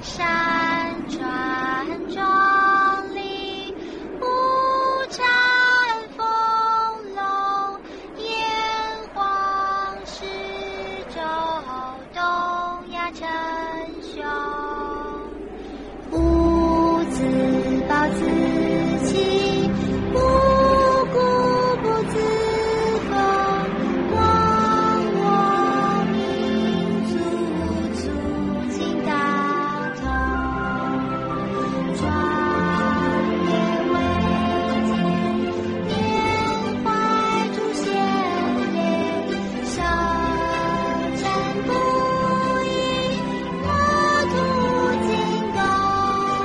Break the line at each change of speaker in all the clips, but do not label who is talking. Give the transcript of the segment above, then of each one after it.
山川壮丽，五展丰隆，炎黄始周，东亚称雄。吾自暴自弃，无故不自封。忘我民族，促进大同。壮烈维艰，缅怀祖先烈，首战不已，国土进攻。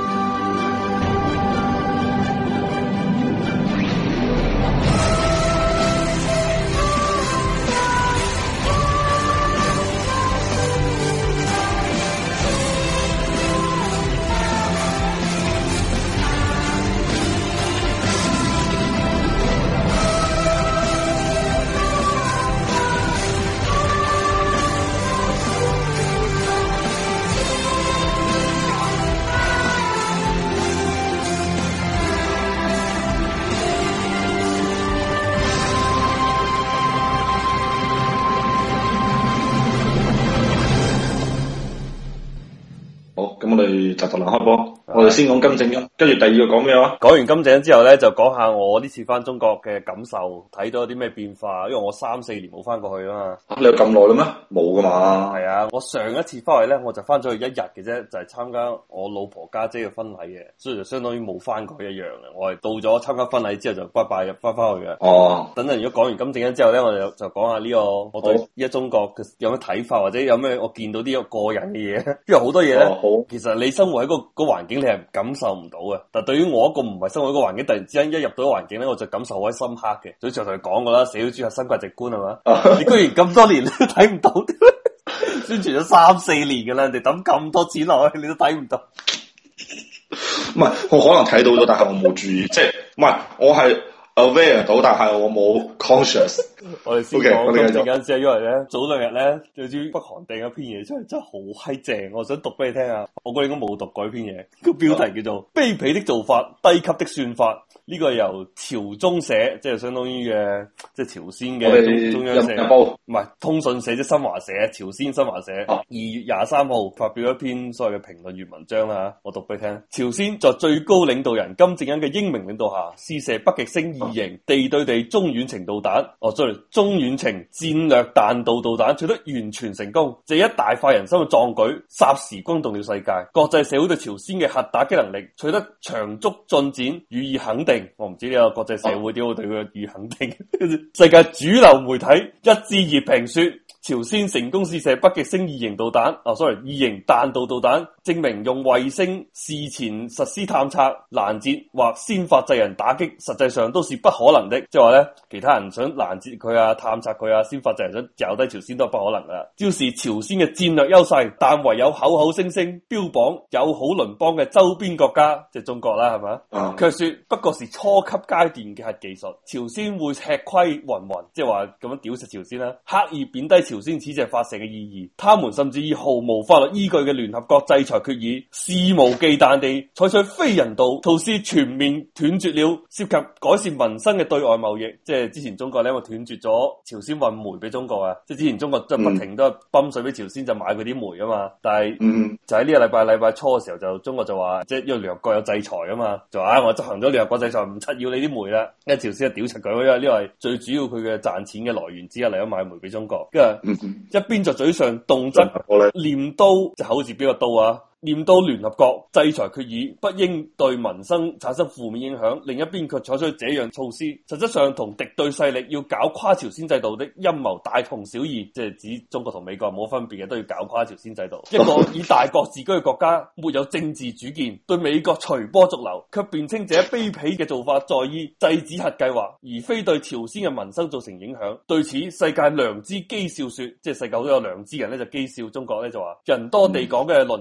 好，咁我哋就能開波。我哋先講金正恩，跟住第二個講咩話？
講完金正恩之後咧，就講下我呢次翻中國嘅感受，睇到有啲咩變化。因為我3-4年冇翻過去啊嘛。
你有咁耐啦咩？冇噶嘛。
係啊，我上一次翻去咧，我就翻咗去1日嘅啫，就係參加我老婆家姐嘅婚禮嘅，所以就相當於冇翻過去一樣嘅。我係到咗參加婚禮之後就拜拜入翻去嘅。
哦。
等陣如果講完金正恩之後咧，我哋就講下呢個我對依家中國嘅有咩睇法，或者有咩我見到啲個人嘅嘢。因為好多嘢咧，其實你生活喺個環境你係感受唔到嘅，但對於我一個唔係生活喺個環境，突然之間一入到環境咧，我就感受好深刻嘅。所以上台講過啦，社會主義核心價值觀係嘛？你居然咁多年你都睇唔到，宣傳咗3-4年噶啦，人哋抌咁多錢落去，你都睇唔到。
唔係，我可能睇到咗，但係我冇注意，即係唔係我係 aware 到，但係我冇 conscious。
我哋先講金正恩先，因為咧早2日咧，就知北韓掟一篇嘢出嚟，真係好閪正，我想讀俾你聽下。我覺得應該冇讀過呢篇嘢，個標題叫做《卑鄙的做法，低級的算法》。呢個係由朝中社，即係相當於嘅，即係朝鮮嘅中央社，唔係通訊社，即係新華社，朝鮮新華社。2月23號發表一篇所謂嘅評論員文章啦，我讀俾你聽。朝鮮在最高領導人金正恩嘅英明領導下，試射北極星2型地對地中遠程導彈。中遠程戰略彈道導彈取得完全成功，這一大快人心嘅壯舉，霎時轟動了世界。國際社會對朝鮮嘅核打擊能力取得長足進展予以肯定。我唔知呢個國際社會點會對佢予以肯定。世界主流媒體一致熱評說，朝鮮成功試射北極星2型導彈，2型彈道導彈，證明用衛星事前實施探測、攔截或先發制人打擊，實際上都是不可能的。即係話咧，其他人想攔截佢啊、探測佢啊、先發制人想搞低朝鮮都係不可能噶。只要是朝鮮嘅戰略優勢，但唯有口口聲聲標榜友好鄰邦嘅周邊國家，即係中國啦，係嘛？卻說不過是初級階段嘅核技術，朝鮮會吃虧云云，即係話咁樣屌食朝鮮啦，刻意貶低朝鮮此次發射嘅意義。他們甚至以毫無法律依據嘅聯合國制裁決議，肆無忌憚地採取非人道措施，全面斷絕了涉及改善民生嘅對外貿易。即係之前中國咧，因為斷絕咗朝鮮運煤俾中國啊，即係之前中國即係不停都係泵水俾朝鮮就買佢啲煤啊嘛。但係就喺呢個禮拜初嘅時候，就中國就話，即係因為聯合國有制裁啊嘛，就話我執行咗聯合國制裁，唔七要你啲煤啦。因為朝鮮係屌柒佢，因為呢個係最主要佢嘅賺錢嘅來源之一嚟，咗買煤俾中國。跟住一邊就嘴上動則念刀，就口字邊個刀啊？念到聯合國制裁決議不應對民生產生負面影響，另一邊卻採取這樣措施，實質上同敵對勢力要搞垮朝鮮制度的陰謀大同小異，即係指中國同美國冇分別嘅，都要搞垮朝鮮制度。一個以大國自居嘅國家，沒有政治主見，對美國隨波逐流，卻辯稱這卑鄙嘅做法在意制止核計劃，而非對朝鮮嘅民生造成影響。對此，世界良知譏笑說，即係世界好多有良知人咧就譏笑中國咧，就話人多地廣嘅鄰國仍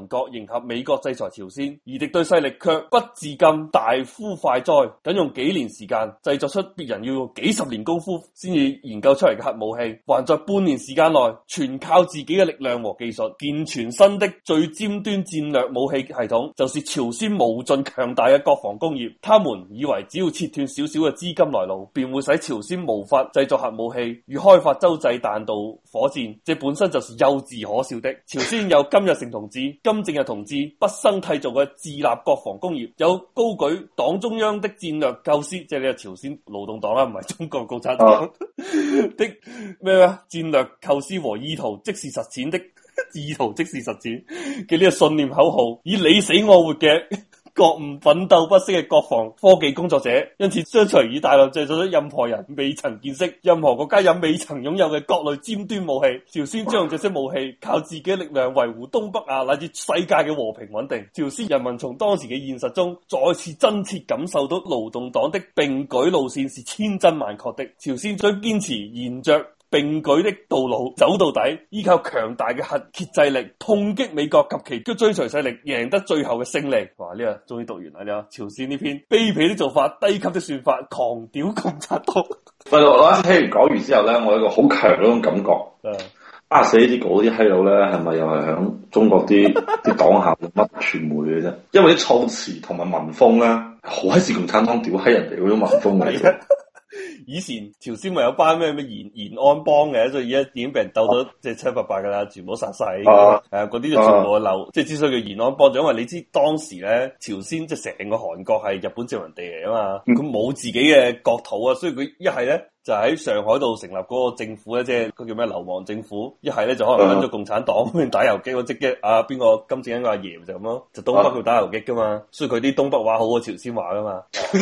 合美國制裁朝鮮，而敵對勢力卻不自禁大呼快哉，僅用幾年時間製作出別人要用幾十年功夫先至研究出嚟嘅核武器，還在半年時間內全靠自己嘅力量和技術健全新的最尖端戰略武器系統，就是朝鮮無盡強大嘅國防工業。他們以為只要切斷少少嘅資金來路，便會使朝鮮無法製作核武器與開發洲際彈道火箭，這本身就是幼稚可笑的。朝鮮有金日成同志、金正日同志畢生締造嘅自立國防工業，有高舉黨中央的戰略構思，即係你係朝鮮勞動黨啦，唔係中國共產黨的咩啊？戰略構思和意圖即是實踐的意圖即是實踐嘅呢個信念口號，以你死我活嘅覺悟奮鬥不息嘅國防科技工作者，因此將隨以大量製造咗任何人未曾見識、任何國家也未曾擁有嘅各類尖端武器。朝鮮將用這些武器靠自己嘅力量維護東北亞乃至世界嘅和平穩定。朝鮮人民從當時嘅現實中再次真切感受到勞動黨的並舉路線是千真萬確的。朝鮮將堅持沿着並舉的道路走到底，依靠強大嘅核遏制力痛擊美國及其追隨勢力，贏得最後嘅勝利。哇！呢個終於讀完啦！呢個朝鮮呢篇卑鄙的做法、低級的算法、狂屌共產黨。
喂，我一聽完講完之後咧，我有一個好強嗰種感覺。寫呢啲稿啲閪佬咧，係咪又係響中國啲黨校乜傳媒嘅啫？因為啲措辭同埋文風咧，好閪似共產黨屌閪人哋嗰種文風嚟嘅。
以前朝鮮咪有班咩延安幫嘅，所以而家已經俾人鬥到即係七八八噶啦，全部殺晒。嗰啲就全部漏。即係之所以叫延安幫，就因為你知當時咧朝鮮即係成個韓國係日本殖民地嚟啊嘛，佢冇自己嘅國土啊，所以佢一係咧就喺上海度成立嗰個政府咧，即係嗰叫咩流亡政府；一係咧就可能跟咗共產黨打游擊，我即係邊個金正恩個阿爺就咁咯，就東北去打游擊噶嘛，所以佢啲東北話好過朝鮮話噶嘛。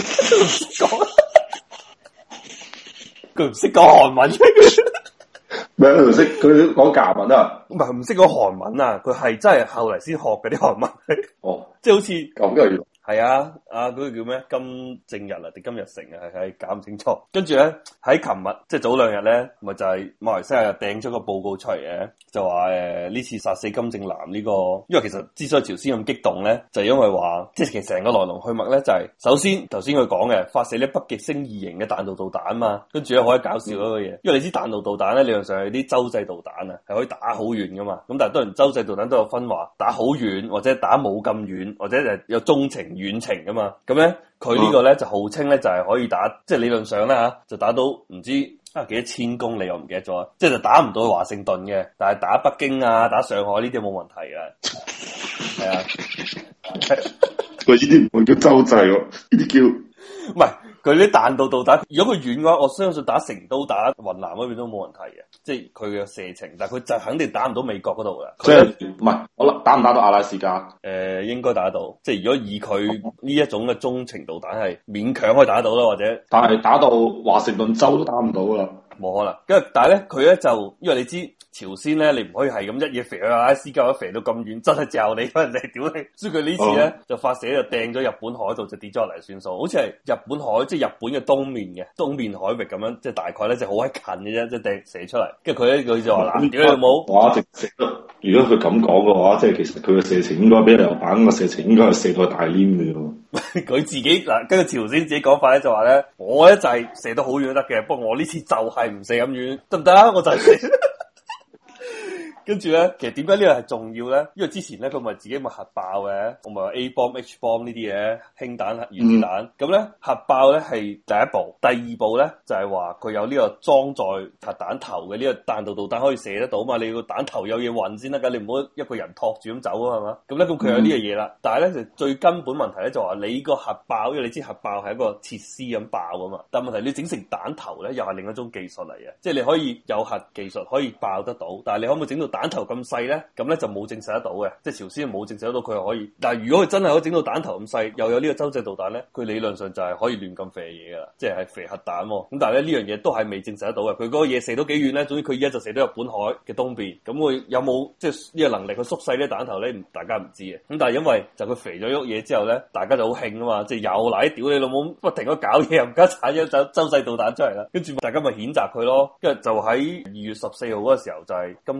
佢唔識講韓文，
咩佢唔識佢講甲文啊？
唔係唔識講韓文啊？佢係真係後嚟先學嘅啲韓文。
哦，
即係好似
咁嘅。
係啊，嗰個叫咩？金正日啊定金日成啊？係搞唔清楚。跟住咧喺琴日即係早兩日咧，咪就係馬來西亞又掟咗個報告出嚟嘅，就話呢次殺死金正男呢個，因為其實之所以朝鮮咁激動咧，就係因為話即係其實成個來龍去脈咧，就係首先頭先佢講嘅發射呢北極星2型嘅彈道導彈嘛，跟住咧好搞笑嗰個嘢，因為你知彈道導彈咧理論上係啲洲際導彈啊，係可以打好遠噶嘛，咁但係當然洲際導彈都有分話打好遠或者打冇咁遠，或者係有中程遠程噶嘛，咁咧佢呢個咧就號稱咧就係可以打，即係理論上咧吓就打到唔知幾多千公里我唔記得咗，即係就打唔到華盛頓嘅，但係打北京啊打上海呢啲冇問題嘅，係啊，
佢呢啲唔會叫洲際喎，呢啲叫
唔係。佢啲彈道導彈，如果佢遠嘅話，我相信打成都、打雲南嗰邊都冇問題嘅，即係佢嘅射程。但係佢就肯定打唔到美國嗰度嘅。
即係唔係？我諗打唔打到阿拉斯加？
應該打得到。即係如果以佢呢一種嘅中程導彈係勉強可以打得到啦，或者
但係打到華盛頓州都打唔到啦。
冇可能。跟住，但係咧，佢咧就因為你知朝鮮咧，你唔可以係咁一嘢肥去阿拉斯加，肥到咁遠，真係嚼你，人哋屌你。所以佢呢次咧就發射就掟咗日本海度，就跌咗落嚟算數。好似係日本海，即係日本嘅東面海域咁樣，即係大概咧就好閪近嘅啫，即係掟射出嚟。跟住佢就話嗱，屌你老母！
哇！直射如果佢咁講嘅話，即係其實佢嘅射程應該比榴彈嘅射程應該係射到大黏嘅喎。
佢自己嗱，跟住朝鮮自己講法咧就話咧，我咧就係射得好遠都得嘅，不過我呢次就係唔射咁遠，得唔得啊？我就係射。跟住咧，其實點解呢個係重要咧？因為之前咧佢咪自己咪核爆嘅，我咪話 A bomb、H bomb 呢啲嘢，氫彈、原子彈。咁咧核爆咧係第一步，第二步咧就係話佢有呢個裝載核彈頭嘅呢個彈道導彈可以射得到嘛？你個彈頭有嘢運先得㗎，你唔好一個人托住咁走啊，係嘛？咁咧咁佢有呢個嘢啦，但係咧就最根本問題咧就話你個核爆，因為你知核爆係一個設施咁爆啊嘛。但係問題你整成彈頭咧，又係另一種技術嚟嘅，即係你可以有核技術可以爆得到，但係你可唔可以整到彈頭咁細咧？咁咧就冇證實得到嘅，即係朝鮮冇證實得到佢係可以。但係如果佢真係可以整到彈頭咁細，又有呢個洲際導彈咧，佢理論上就係可以亂咁射嘢噶啦，即係射核彈。咁但係咧呢樣嘢都係未證實得到嘅。佢嗰個嘢射到幾遠咧？總之佢而家就射到日本海嘅東邊。咁佢有冇即係呢個能力去縮細呢彈頭咧？大家唔知嘅。咁但係因為就佢肥咗喐嘢之後咧，大家就好興啊嘛，即係又嚟屌你老母，不停咁搞嘢，又唔加產咗洲際導彈出嚟啦。跟住大家咪譴責佢咯。跟住就喺2月14號嗰個時候，就係金正男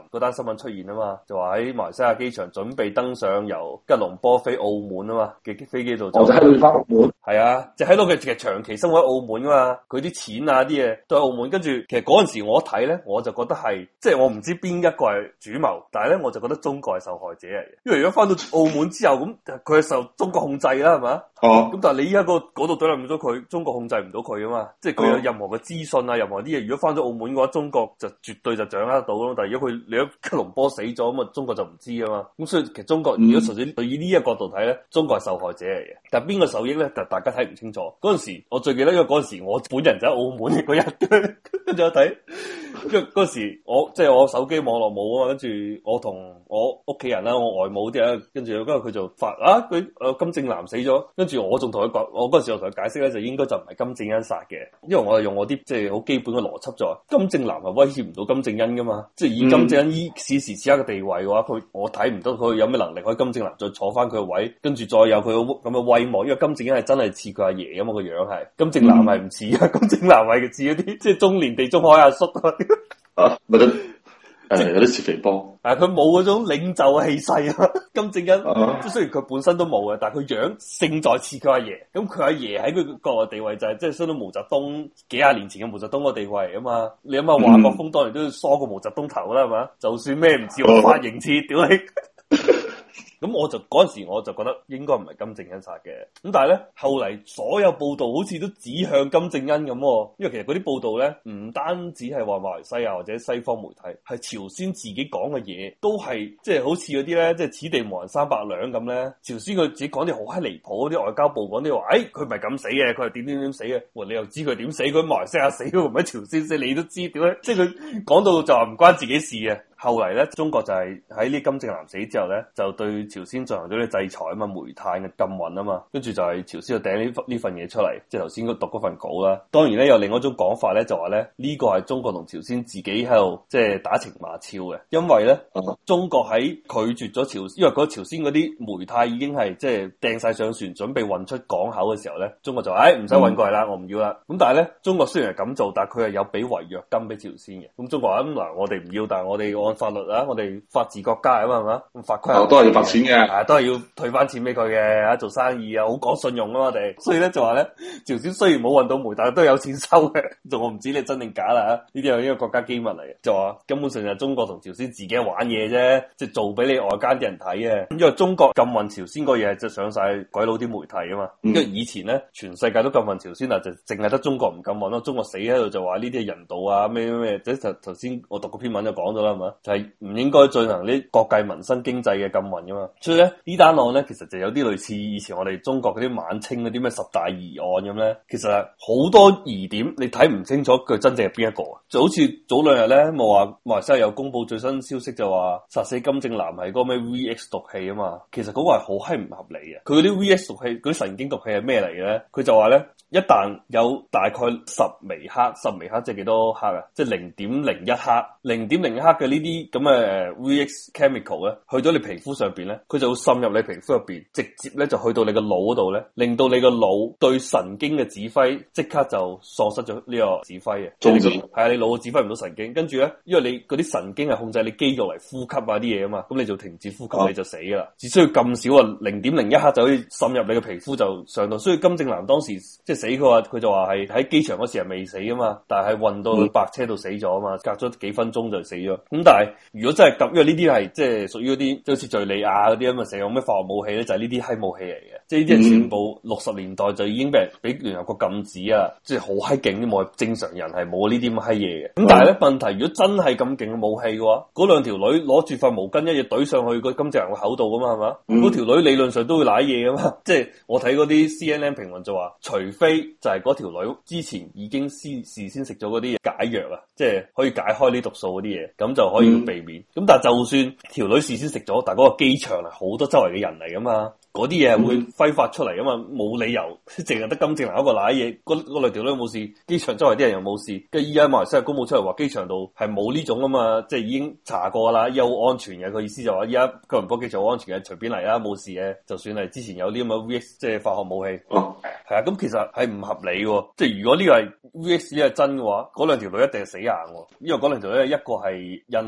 嗰單新聞出現啊嘛，就話喺馬來西亞機場準備登上由吉隆坡飛澳門啊嘛嘅飛機度，
我就喺度翻澳門。
係啊，就喺度嘅，其實長期生活喺澳門噶嘛，佢啲錢啊啲嘢都喺澳門。跟住其實嗰陣時我一睇咧，我就覺得係即係我唔知邊一個係主謀，但係咧我就覺得中國係受害者嚟嘅，因為如果翻到澳門之後咁，佢係受中國控制啦，係嘛？哦，咁但係你依家嗰度對立唔到佢，中國控制唔到佢啊嘛，即係佢有任何嘅資訊啊，任何啲嘢，如果翻咗澳門嘅話，中國就絕對就掌握得到咯。但係如果你喺吉隆坡死咗咁啊，中國就唔知啊嘛。咁所以其實中國如果純粹對於呢一個角度睇咧，中國係受害者嚟嘅。但係邊個受益咧？就大家睇唔清楚。嗰陣時我最記得，因為嗰陣時我本人就喺澳門嗰日，跟住我睇，因為嗰陣時我手機網絡冇啊嘛，跟住我同我屋企人啦，我外母啲啊，跟住佢就發佢金正男死咗，跟住我仲同佢講，我嗰陣時我同佢解釋咧，就應該就唔係金正恩殺嘅，因為我係用我啲即係好基本嘅邏輯就話，金正男係威脅唔到金正恩噶嘛，即係以金正恩依此時此刻嘅地位嘅話，我睇唔到佢有咩能力可以金正男再坐翻佢嘅位，跟住再有佢咁嘅威望，因為金正恩係真係似佢阿爺咁嘛個樣係，金正男係唔似啊，金正男係似嗰啲即係中年地中海阿叔啊，
咪得。有啲似肥波，
佢冇嗰種領袖嘅氣勢啊！金正恩，即係雖然佢本身都冇嘅，但係佢樣勝在似佢阿爺。咁佢阿爺喺佢國內地位就係即係相當於毛澤東幾廿年前嘅毛澤東個地位嚟啊嘛！你諗下華國鋒當年都要梳過毛澤東頭啦，係嘛？就算咩唔似我髮型似，屌你！咁我就嗰陣時我就覺得應該唔係金正恩殺嘅，咁但係咧後嚟所有報道好似都指向金正恩咁，因為其實嗰啲報道咧唔單止係話馬來西亞或者西方媒體，係朝鮮自己講嘅嘢都係即係好似嗰啲咧，即係此地無銀三百兩咁咧。朝鮮佢自己講啲好閪離譜嗰啲外交部講啲話，佢唔係咁死嘅，佢係點死嘅。你又知佢點死？佢喺馬來西亞死，唔喺朝鮮死，你都知點咧？即係佢講到就話唔關自己事嘅。後嚟咧，中國就係喺呢金正男死之後咧，就對朝鮮進行咗啲制裁啊嘛，煤炭嘅禁運啊嘛，跟住就係朝鮮就掟呢份嘢出嚟，即係頭先讀嗰份稿啦。當然咧，有另外一種講法咧，就話咧呢個係中國同朝鮮自己喺度即係打情罵俏嘅，因為咧中國喺拒絕咗朝鮮，因為嗰朝鮮嗰啲煤炭已經係即係掟晒上船，準備運出港口嘅時候咧，中國就話唔使運過嚟啦，我唔要啦。咁但係咧，中國雖然係咁做，但係佢係有俾違約金俾朝鮮嘅。咁中國話嗱，我哋唔要，但係我哋按法律啊，我哋法治國家啊嘛，係嘛？咁法規
都係要罰錢嘅，
都係要退翻錢俾佢嘅，做生意啊，好講信用啊嘛，我哋。所以咧就話咧，朝鮮雖然冇運到煤，但係都有錢收嘅。就我唔知你真定假啦，呢啲係一個國家機密嚟嘅。就話根本上就係中國同朝鮮自己玩嘢啫，即係做俾你外間啲人睇嘅。因為中國禁運朝鮮個嘢就上晒鬼佬啲媒體啊嘛。因為以前咧全世界都禁運朝鮮啊，就淨係得中國唔禁運咯。中國死喺度就話呢啲係人道啊咩，即係頭先我讀個篇文就講咗啦，係嘛？就係唔應該進行呢國計民生經濟嘅禁運噶嘛。所以咧呢單案咧其實就有啲類似以前我哋中國嗰啲晚清嗰啲咩十大疑案咁咧，其實係好多疑點你睇唔清楚佢真正係邊一個啊。就好似早兩日咧冇話馬來西亞有公布最新消息，就話殺死金正男係嗰個咩 VX 毒氣啊嘛。其實嗰個係好閪唔合理嘅。佢嗰啲 VX 毒氣嗰啲神經毒氣係咩嚟嘅咧？佢就話咧一旦有大概10微克，10微克即係幾多克啊？即係0.01克，0.01克嘅呢啲咁嘅VX chemical 咧，去到你皮膚上邊咧，佢就會滲入你皮膚入邊，直接咧就去到你個腦嗰度咧，令到你個腦對神經嘅指揮即刻就喪失咗呢個指揮嘅。係啊，你腦指揮唔到神經，跟住咧，因為你嗰啲神經係控制你肌肉嚟呼吸啊啲嘢啊嘛，咁你就停止呼吸，你就死噶啦。只需要咁少啊，0.01克就可以滲入你嘅皮膚就上到。所以金正男當時即係死，佢就話係喺機場嗰時係未死啊嘛，但係運到白車度死咗啊嘛，隔咗幾分鐘就死咗。咁但係如果真係咁，因為呢啲係即係屬於嗰啲即係好似敘利亞嗰啲咁啊，成日用咩化學武器咧，就係呢啲閪武器嚟嘅。即係呢啲係全部60年代就已經俾聯合國禁止啊，即係好閪勁啲武器，正常人係冇呢啲咁閪嘢嘅。咁但係咧問題，如果真係咁勁嘅武器嘅話，嗰兩條女攞住塊毛巾一嘢懟上去個金正男個口度噶嘛，係嘛？嗰條女理論上都會舐嘢噶嘛。即係我睇嗰啲 CNN 評論就話，除非就係嗰條女之前已經事先食咗嗰啲解藥啊，即係可以解開呢毒素嗰啲嘢，咁就可以避免。咁但係就算條女事先食咗，但係嗰個機場係好多周圍嘅人嚟噶嘛。嗰啲嘢係會揮發出嚟噶嘛，冇理由淨係得金正男一個瀨嘢，嗰兩條女冇事，機場周圍啲人又冇事。跟住依家馬來西亞公佈出嚟話，機場度係冇呢種啊嘛，即係已經查過啦，又好安全嘅。佢意思就話依家吉隆坡機場好安全嘅，隨便嚟啦，冇事嘅。就算係之前有啲咁嘅 VX 即係化學武器，係啊，咁其實係唔合理嘅。即係如果呢個係 VX 呢係真嘅話，嗰兩條女一定係死硬，因為嗰兩條女一個係印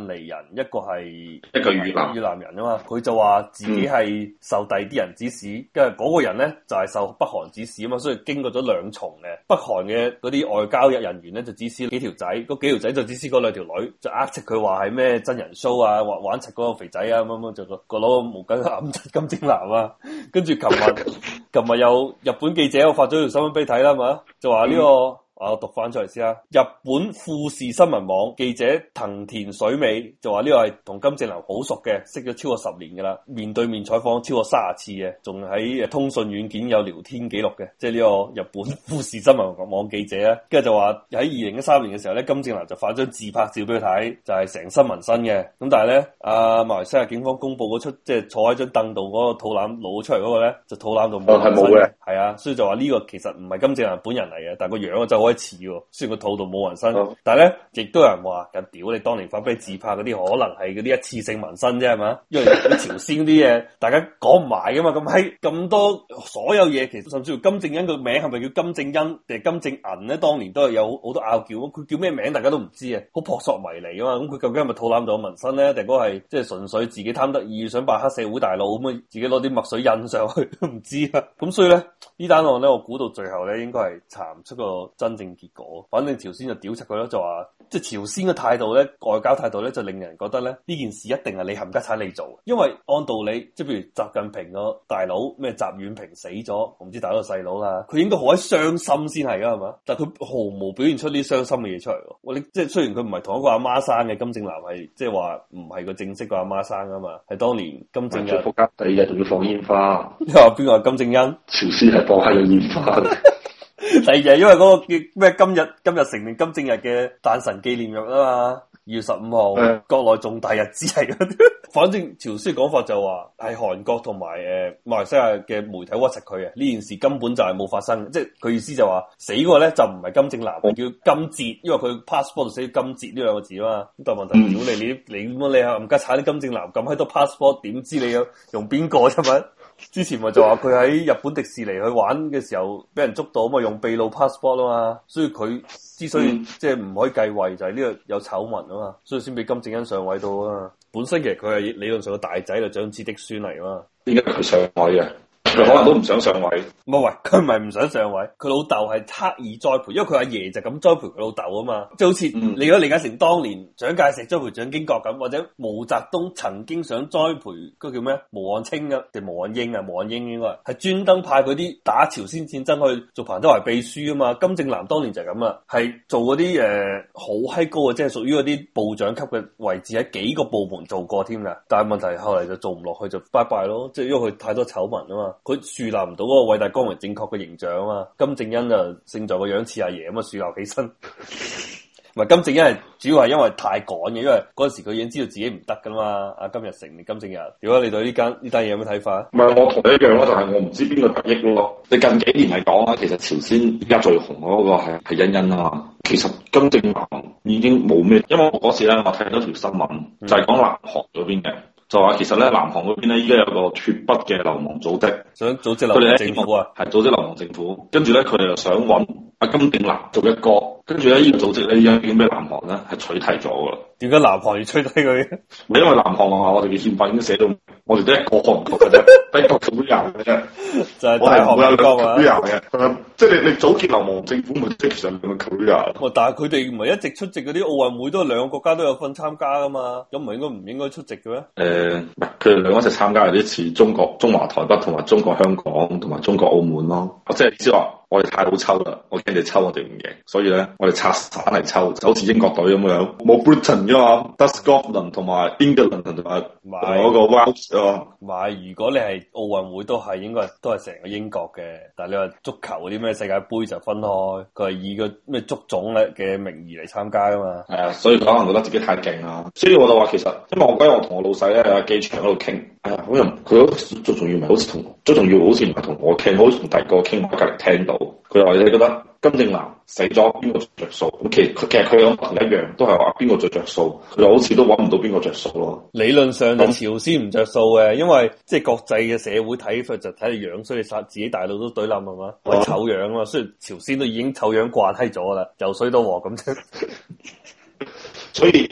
尼人，一個係越南人啊嘛。佢就話自己係受第二啲人指使，跟住嗰個人咧就係受北韓指使啊嘛，所以經過咗兩重嘅北韓嘅嗰啲外交人員咧就指使幾條仔，嗰幾條仔就指使嗰兩條女，就呃斥佢話係咩真人 show 啊，玩柒嗰個肥仔啊，咁就個攞個毛巾揞柒金正男啊。跟住琴日有日本記者我發咗條新聞俾你睇啦嘛，就話呢個。我讀翻出嚟先啦。日本富士新聞網記者藤田水美就話呢個係同金正男好熟嘅，識咗超過10年噶啦，面對面採訪超過30次嘅，仲喺通訊軟件有聊天記錄嘅，即係呢個日本富士新聞網記者啊。跟住就話喺2013年嘅時候咧，金正男就發張自拍照俾佢睇，就係成身紋身嘅。咁但係咧，馬來西亞警方公布嗰出即係坐喺張凳度嗰個肚腩露出嚟嗰個咧，就肚腩度冇紋身嘅，係啊，所以就話呢個其實唔係金正男本人嚟嘅，但係個樣就好似喎，雖然個肚度冇紋身，但係咧亦都有人話，咁屌你當年發俾你自拍嗰啲，可能係嗰啲一次性紋身啫，係嘛？因為啲朝鮮啲嘢，大家講唔埋噶嘛，咁多所有嘢，其實甚至乎金正恩個名係咪叫金正恩定係金正銀咧？當年都係有好多拗撬，佢叫咩名大家都唔知啊，好撲朔迷離啊嘛。咁佢究竟係咪肚腩度有紋身咧，定嗰係即係純粹自己貪得意，想扮黑社會大佬咁啊？自己攞啲墨水印上去都唔知啊。咁所以咧呢單案咧，我估到最後咧應該係查唔出個真正結果。反正朝鮮就屌柒佢咯，就話即係朝鮮嘅態度咧，外交態度咧，就令人覺得咧呢件事一定係你冚家鏟你做，因為按道理即係譬如習近平個大佬咩習遠平死咗，我唔知大佬細佬啦，佢應該好喺傷心先係噶係嘛，但係佢毫無表現出啲傷心嘅嘢出嚟。我你即係雖然佢唔係同一個阿媽生嘅，金正男係即係話唔係個正式個阿媽生噶嘛，係當年金正恩
國家第二日仲要放煙花，
你話邊個係金正恩？
朝鮮係放喺度煙花。
第二日因為嗰個叫咩今日成年金正日嘅誕辰紀念日啊嘛，2月15號，國內重大日子嚟嘅。反正朝鮮講法就話係韓國同埋馬來西亞嘅媒體屈實佢啊，呢件事根本就係冇發生，即係佢意思就話死嗰個咧就唔係金正男，叫金哲，因為佢 passport 度寫金哲呢兩個字啊嘛。咁但係問題，屌你冚家鏟啲金正男咁喺度 passport， 點知你用邊個啫嘛？之前咪就話佢喺日本迪士尼去玩嘅時候俾人捉到嘛，用秘魯 passport 啊嘛，所以佢之所以即係唔可以繼位就係呢個有醜聞啊嘛，所以先俾金正恩上位到啊。本身其實佢係理論上個大仔就長子嫡孫嚟啊嘛，點解佢上位嘅？佢可能都唔想上位，唔係，佢唔係唔想上位，佢老豆係刻意栽培，因為佢阿爺就咁栽培佢老豆啊嘛，即係好似你如果李嘉誠當年蔣介石栽培蔣經國咁，或者毛澤東曾經想栽培嗰個叫咩毛岸青啊定毛岸英啊，毛岸英應該係專登派嗰啲打朝鮮戰爭去做彭德懷秘書啊嘛，金正男當年就係咁啊，係做嗰啲好閪高嘅，即係屬於嗰啲部長級嘅位置，喺幾個部門做過添㗎，但係問題後嚟就做唔落去就拜拜咯，即係因為佢太多醜聞啊嘛。佢樹立唔到嗰個偉大光榮正確嘅形象啊嘛，金正恩就勝在個樣似阿爺咁啊，樹立起身。唔係金正恩係主要係因為太趕嘅，因為嗰陣時佢已經知道自己唔得噶嘛。阿金日成定金正日，如果你對呢單嘢有咩睇法？唔係我同你一樣咯，就係我唔知邊個得益咯。你近幾年嚟講啊，其實朝鮮而家最紅嗰個係欣欣啊嘛。其實金正男已經冇咩，因為我嗰時咧我睇到條新聞，就係講南韓嗰邊嘅。就話其實咧，南韓嗰邊咧依家有個脫北嘅流亡組織，想組織流亡政府啊，係組織流亡政府。跟住咧，佢哋又想揾阿金正男做一個，跟住咧呢個組織咧已經俾南韓咧係取締咗噶啦。點解南韓要取締佢？因為南韓話我哋嘅憲法已經寫到，我哋得一個韓國嘅啫，得一個土人嘅啫，就係大韓民國啊。即係你組建流亡政府，咪即係上兩個土人。但係佢哋唔係一直出席嗰啲奧運會，都係兩個國家都有份參加噶嘛？咁唔應該出席嘅咩？佢哋兩個一齊參加有啲似中華台北同埋中國香港同埋中國澳門咯。即係意思話我哋太好抽啦，我驚你抽我哋唔贏，所以咧我哋拆散嚟抽，就好似英國隊咁樣，冇 Britain 噶嘛，得 Scotland 同埋 England 同埋嗰個 Wales 啊。唔係，如果你係奧運會都係應該都係成個英國嘅，但係你話足球嗰啲咩世界盃就分開，佢係以個咩足總咧嘅名義嚟參加噶嘛。係啊，所以佢可能覺得自己太勁啦，所以我就話其實，因為我嗰日我同我老細咧喺機場嗰度傾，好似佢最重要唔係好似同最重要好似唔係同我傾，好似同第二個傾，我隔離聽到。佢話你覺得金正男死咗邊個着數？咁其實佢有同一樣，都係話邊個最着數？佢好似都揾唔到邊個着數咯。理論上就朝鮮唔着數嘅，因為即係國際嘅社會睇法就睇你樣，所以你殺自己大佬都懟冧係嘛？為醜樣啊嘛，雖然朝鮮都已經醜樣慣閪咗啦，由水到河咁啫。所以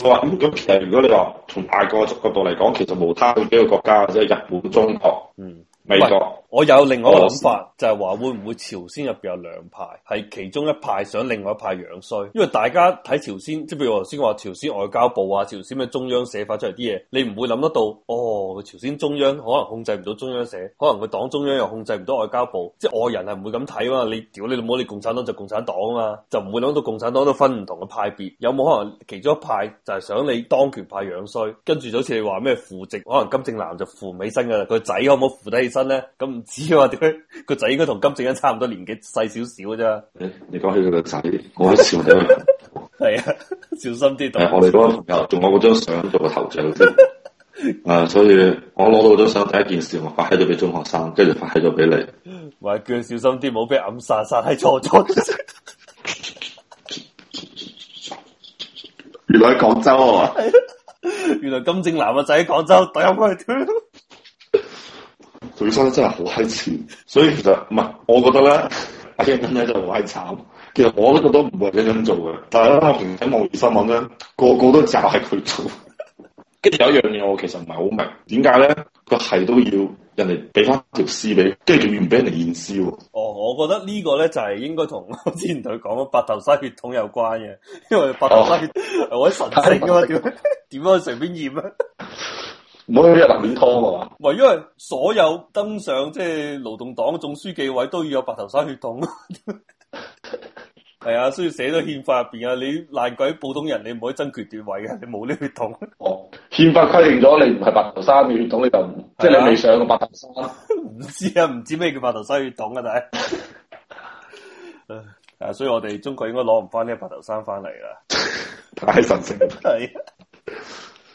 我話咁其實如果你話從大國角度嚟講，其實無他嗰幾個國家，即係日本、中國、美國。
我有另外一個諗法，就係話會唔會朝鮮入邊有兩派，係其中一派想另外一派樣衰，因為大家睇朝鮮，即係譬如我頭先話朝鮮外交部啊、朝鮮嘅中央社發出嚟啲嘢，你唔會諗得到，哦，朝鮮中央可能控制唔到中央社，可能佢黨中央又控制唔到外交部，即係外人係唔會咁睇嘛。你屌你老母，你共產黨就共產黨啊嘛，就唔會諗到共產黨都分唔同嘅派別，有冇可能其中一派就係想你當權派樣衰，跟住就好似你話咩扶植，可能金正男就扶唔起身噶啦，佢仔可唔可以扶得起身咧？咁唔知啊，點解個仔應該同金正恩差唔多年紀，細少少啫。
你講起佢個仔，我都笑咗。
係啊，小心啲。
我哋嗰個朋友仲有嗰張相做個頭像先。所以我攞到張相第一件事，我發喺咗俾中學生，跟住發喺咗俾你。
話叫佢小心啲，唔好俾暗殺喺錯咗。
原來喺廣州啊！
原來金正男個仔喺廣州，懟入去屌！
佢生得真係好閪賤，所以其實唔係，我覺得咧，阿欣欣咧就好閪慘。其實我都覺得唔會咁樣做嘅，但係咧我平時睇網頁新聞咧，個個都就係佢做。跟住有一樣嘢我其實唔係好明，點解咧佢係都要人哋俾翻條屍俾，跟住仲要唔俾人哋驗屍喎？
哦，我覺得呢個咧就係應該同我之前同佢講嘅白頭山血統有關嘅，因為白頭山血係好神聖噶嘛，點樣去隨便驗啊？
唔好一日面拖啊嘛！
唔係，因為所有登上即係勞動黨總書記位都要有白頭山血統。係啊，所以寫咗憲法入邊啊，你爛鬼普通人，你唔可以爭權奪位嘅，你冇呢血統。
哦，憲法規定咗你唔係白頭山嘅血統，你就唔即係你未上過白頭山。
唔知啊，唔知咩叫白頭山血統啊，但係，所以我哋中國應該攞唔翻呢個白頭山翻嚟啦。
太神聖。
係。